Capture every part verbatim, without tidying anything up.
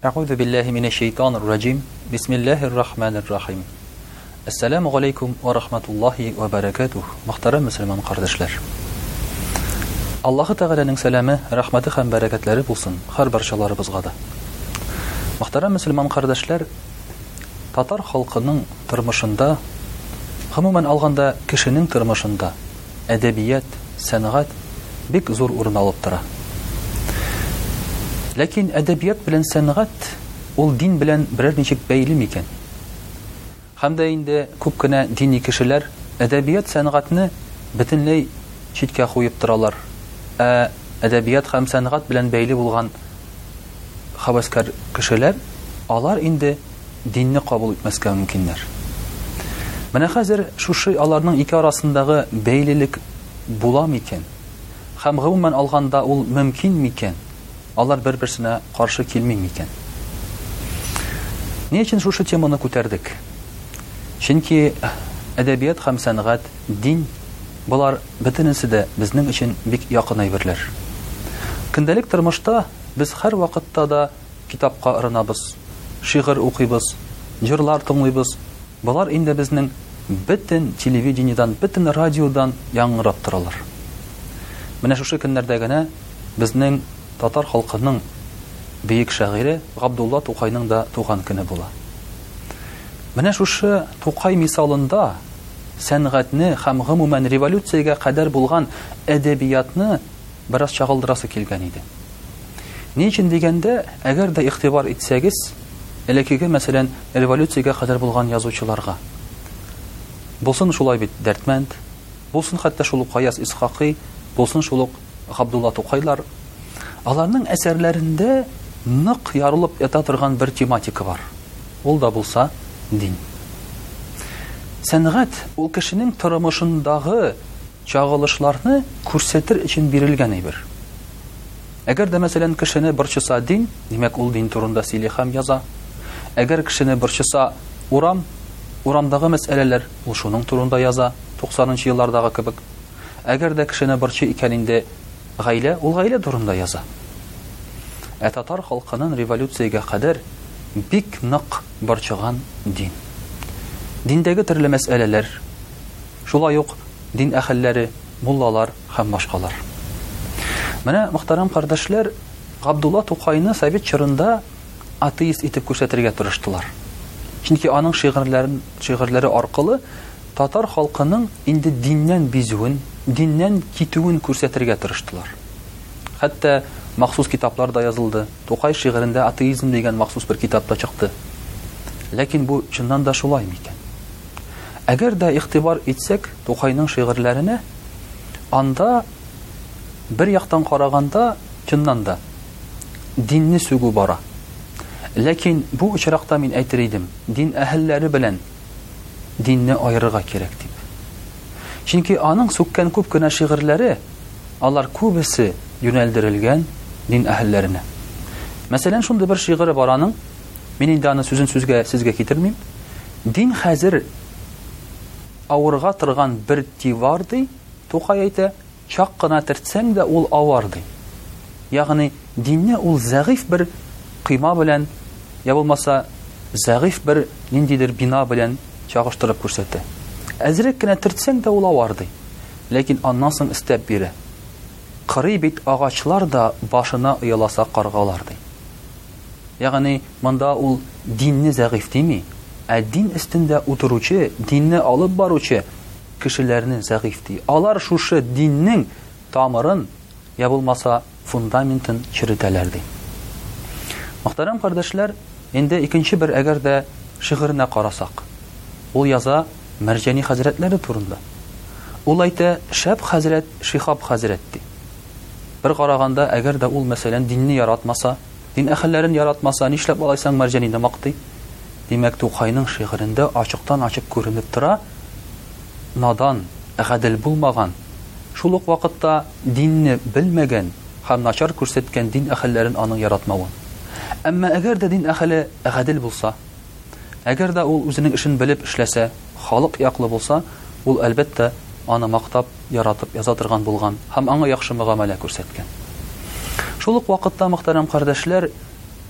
А'удhu billahi minash shaytanir rajim. Bismillahir rahmanir rahim. Assalamu alaykum wa rahmatullohi wa barakatuh. Muhtaram musulmon qardoshlar. Alloh Taolaning salami, rahmati ham barakatlari bo'lsin har barchalarimizga da. Muhtaram musulmon qardoshlar, Tatar xalqining turmushida, umuman olganda kishining turmushida adabiyat, san'at bek zo'r o'rin olib turadi. Lakin adabiyat bilan san'at ul din bilan biror nechik bəyli ekan. Hamda endi ko'pgina diniy kishilar adabiyat san'atni butunlay chetga qo'yib turalar. A adabiyat ham san'at bilan bəyli bo'lgan havaskar kishilar alar endi dinni qabul etmasga mumkinlar. Mana hozir shu şey alarning ikki arasındagi bəylilik bulam ekan. Ham umuman olganda ul mumkin ekan. Алар bir-birsine karşı kelmeymiken. Ne için şu temаны көтәрдек? Çünkü edebiyat hem sanat, din, bular bütünüsü de bizning için bek yakın aybirler. Kündəlik turmuşda biz her vakitte da kitapqa ıranabız, şiir okuyubuz, jırlar tınlıyız. Bular indi bizning bütün televizyondan, bütün radyodan yangrap turalar. Менә şu günlerde gene bizning Tatar халкының бейек шагыйре Габдулла Тукайның да туган көне була. Менә шушы Тукай мисалында сәнгатьне һәм гомумән революциягә кадәр булган әдәбиятны бераз чагылдырасы килгән иде. Ни өчен дигәндә, әгәр дә игътибар итсәгез, элекеге мәсәлән революциягә кадәр булган язучыларга булсын шулай бит Дәртмәнд, булсын хәтта шул Каяс Исхакый, булсын шул Габдулла Тукайлар, аларның әсәрләрендә нык ярылып ята торган бер тематика бар. Ул да булса дин. Сәнгать ул кешенең тормышындагы чагылышларны күрсәтер өчен бирелгән әйбер. Әгәр дә мәсәлән кешене борчыса дин, димәк ул дин турында сөйли һәм яза. Әгәр кешене борчыса урам, урамдагы мәсьәләләр ул шуның турында яза, туксанынчы еллардагы кебек. Әгәр дә кешене борчы икән инде гаилә, ул гаилә турында яза. Ә татар халкының революциягә кадәр бик нык борчыган дин. Диндәге төрле мәсьәләләр, шулай ук дин әһелләре, муллалар һәм башкалар. Менә мөхтәрәм кардәшләр, Габдулла Тукайны Совет чорында атеист итеп күрсәтергә тырыштылар. Чөнки аның шигырьләрен, шигырьләре аркылы татар халкының инде диннән бизүен, диннән китүен күрсәтергә тырыштылар. Хәтта махсус китаплар да язылды. Тукай шигырендә атеизм дигән махсус бер китап та чыкты. Ләкин бу чыннан да шулай микән? Әгәр дә игътибар итсәк Тукайның шигырьләренә, анда бер яктан караганда чыннан да динне сүгү бара. Ләкин бу очракта мин әйтер идем, дин әһелләре белән динне аерырга кирәк дип. Чөнки аның сүккән күп кенә шигырьләре, алар күбесе юнәлдерелгән дин әһелләренә. Мәсәлән, шундый бер шигыры бар аның, мин инде аны сүзен сүзгә сезгә китермим. Дин хәзер авырга торган бер тивар ди, Тукай әйтә, чак кына төртсәң дә ул авар ди. Ягъни динне ул зәгыйф бер кыйма белән, я булмаса зәгыйф бер ниндидер бина белән чагыштырып күрсәтә. Әзрәк кенә төртсәң дә ул авар ди. Ләкин аннан соң истәп бирә. Кырый бит агачлар да башына ыяласа каргалар ди. Ягъни монда ул динне зәгыйф дими, ә дин өстендә утыручы, динне алып баручы кешеләрне зәгыйф ди. Алар шушы диннең тамырын, я булмаса фундаментын чиртәләр ди. Мөхтәрәм кардәшләр, инде икенче бер әгәр дә шигыренә карасак, ул яза Мәрҗани хәзрәтләре турында. Ул әйтә, шәп хәзрәт, Шихаб хәзрәт ди. Бер караганда, әгәр дә ул мәсәлән динне яратмаса, дин әһелләрен яратмаса, нишләп алайсаң Мәрҗанине мактый? Димәк, Тукайның шигырендә ачыктан-ачык күренеп тора, надан, гадел булмаган, шул ук вакытта динне белмәгән һәм начар күрсәткән дин әһелләрен аның яратмавы. Әмма әгәр дә дин әһеле гадел булса, әгәр дә ул үзенең эшен белеп эшләсә, халык яклы булса, ул әлбәттә аны мактап, яратып яза торган булган һәм аңа яхшы мөгамәлә күрсәткән. Шул ук вакытта, мөхтәрәм кардәшләр,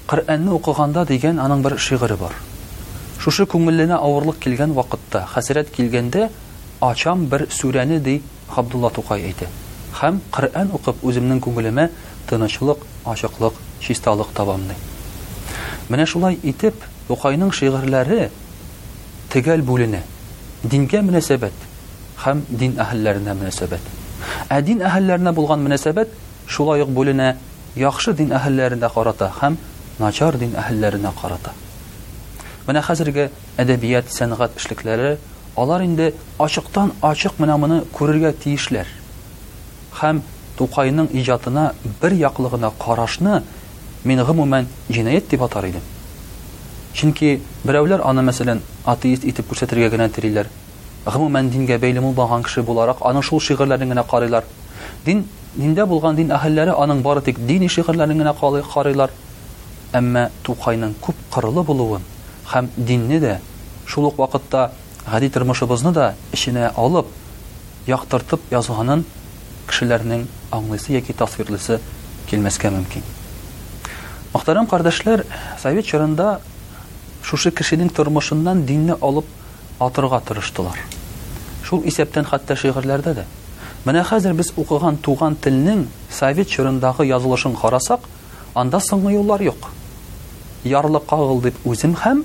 Коръәнне укыганда дигән аның бер шигыре бар. Шушы күңеленә авырлык килгән вакытта, хәсрәт килгәндә, ачам бер сүрәне ди Габдулла Тукай әйтә. Һәм Коръән укып үземнең күңелемә тынычлык, ачыклык, чисталык табам ди. Менә шулай итеп, Тукайның шигырьләре төгәл бүленә. Дингә мөнәсәбәт һәм дин әһелләренә мөнәсәбәт. Ә дин әһелләренә булган мөнәсәбәт шулай ук бүленә яхшы дин әһелләренә карата һәм начар дин әһелләренә карата. Менә хәзерге әдәбият, сәнгать эшлекләре, алар инде ачыктан ачык менә моны күрергә тиешләр. Һәм Тукайның иҗатына бер яклыгына карашны мин гомумән җинаят дип атар идем. Чөнки берәүләр аны мәсәлән атеист итеп күрсәтергә генә телиләр. Гомумән дингә бәйле булмаган кеше буларак аның шул шигырьләрен генә карыйлар. Дин диндә булган дин әһелләре аның бары тик дини шигырьләрен генә карыйлар. Әмма Тукайның күп кырылы булуын һәм динне дә шул ук вакытта гади тормышыбызны да эченә алып, яктыртып язганын кешеләрнең аңлыйсы яки тасвирлысы килмәскә мөмкин. Мөхтәрәм кардәшләр, Совет чорында шушы кешенең тормышыннан динне алып атырга тырыштылар. Шул исәптән хәтта шигырьләрдә дә. Менә хәзер без укыган туган телнең Совет чорындагы язылышын карасак, анда соңгы юллар юк. Ярлы кагыл дип үзем һәм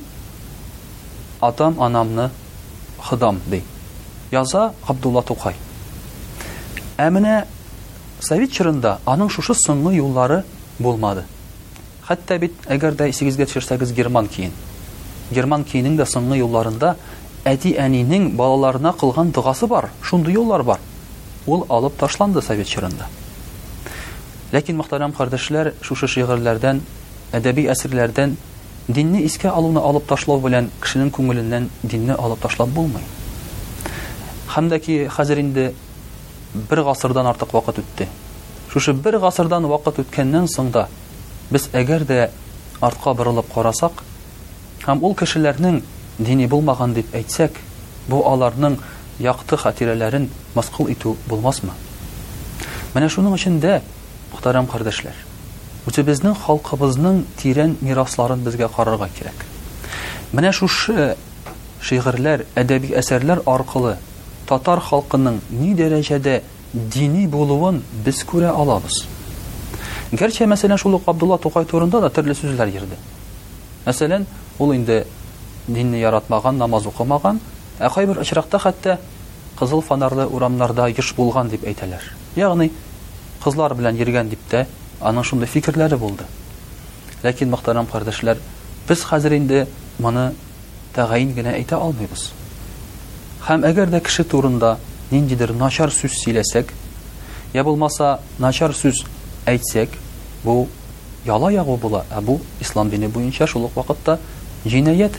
атам анамны хыдам ди. Яза Габдулла Тукай. Ә менә Совет чорында аның шушы соңгы юллары булмады. Хәтта бит әгәр дә исегезгә төшерсәгез герман киен. Герман киенең дә соңгы юлларында әти-әнинең балаларына кылган дугасы бар, шундый юллар бар. Ул алып ташланды Совет чорында. Ләкин мөхтәрәм кардәшләр, шушы шигырьләрдән, әдәби әсерләрдән динне искә алуны алып ташлау белән кешенең күңеленнән динне алып ташлап булмый. Һәм дә ки хәзер инде бер гасырдан артык вакыт үтте. Шушы бер гасырдан вакыт үткәннән соң да без әгәр дә артка борылып карасак, һәм ул кешеләрнең дини булмаган дип әйтсәк, бу аларның якты хатирәләрен маскул итү булмасмы? Менә шуның өчен дә, мөхтәрәм кардәшләр, үзебезнең халкыбызның тирән мирасларын безгә карарга кирәк. Менә шушы шигырьләр, әдәби әсәрләр аркылы татар халкының ни дәрәҗәдә дини булуын без күрә алабыз. Гәрчә мәсәлән шул ук Габдулла Тукай турында да төрле сүзләр йөрде. Мәсәлән, ул инде динне яратмаган, намаз укымаган, ә кайбер очракта хәтта кызыл фонарлы урамнарда еш булган дип әйтәләр. Ягъни кызлар белән йөргән дип тә аның шундый фикерләре булды. Ләкин мөхтәрәм кардәшләр, без хәзер инде моны тәгаен генә әйтә алмыйбыз. Һәм әгәр дә кеше турында ниндидер начар сүз сөйләсәк, я булмаса начар сүз әйтсәк, бу яла ягу була, ә бу ислам дине буенча шул ук вакытта җинаят.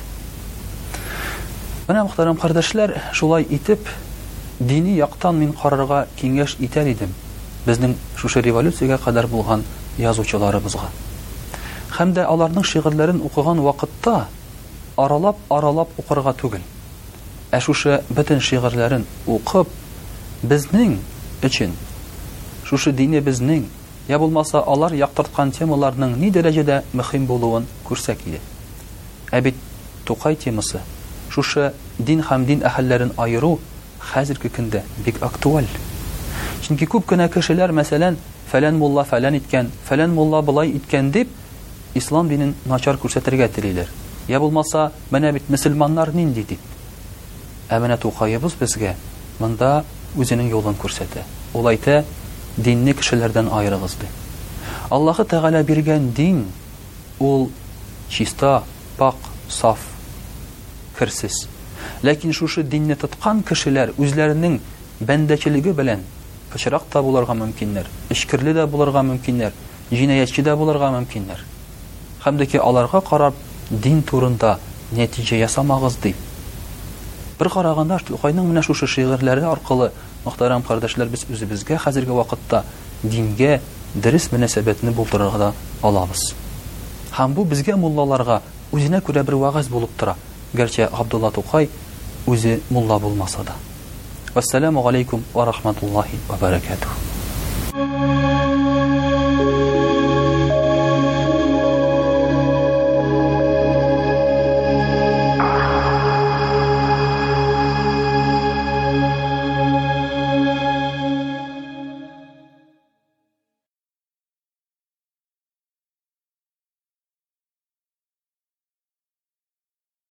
Менә мөхтәрәм кардәшләр, шулай итеп дини яктан мин карарга киңәш итәр идем безнең шушы революциягә кадәр булган язучыларыбызга. Һәм дә аларның шигырьләрен укыган вакытта аралап-аралап укырга түгел, ә шушы бөтен шигырьләрен укып безнең өчен шушы дине безнең, я булмаса алар яктырткан темаларның ни дәрәҗәдә мөһим булуын күрсәк иде. Ә бит Тукай темасы, шушы дин һәм дин әһелләрен айыру хәзерге көндә бик актуаль. Чөнки күп кенә кешеләр, мәсәлән, фәлән мулла фәлән иткән, фәлән мулла булай иткән дип ислам динен начар күрсәтергә телиләр. Я булмаса, менә бит мөселманнар нинди дип. Ә менә Тукайыбыз безгә монда үзенең юлын күрсәтә. Ул әйтә, динне кешеләрдән айырыгыз ди. Аллаһы Тәгалә биргән дин ул чиста, пак, саф, керсез. Ләкин шушы динне тоткан кешеләр үзләренең бәндәчелеге белән пычрак та булырга мөмкиннәр, эшкерле дә булырга мөмкиннәр, җинаятчы да булырга мөмкиннәр. Һәм дә ки аларга карап дин турында нәтиҗә ясамагыз дип. Бер караганда Тукайның менә шушы шигырьләре аркылы, мөхтәрәм кардәшләр, без үзебезгә хәзерге вакытта дингә дөрес мөнәсәбәтне булдырырга да алабыз. Һәм бу безгә муллаларга үзенә күрә бер вагыз булып тора. Гәрчә Габдулла Тукай үзе мулла булмаса да. Вассаламу алейкум ва рахматуллахи ва баракатуһ.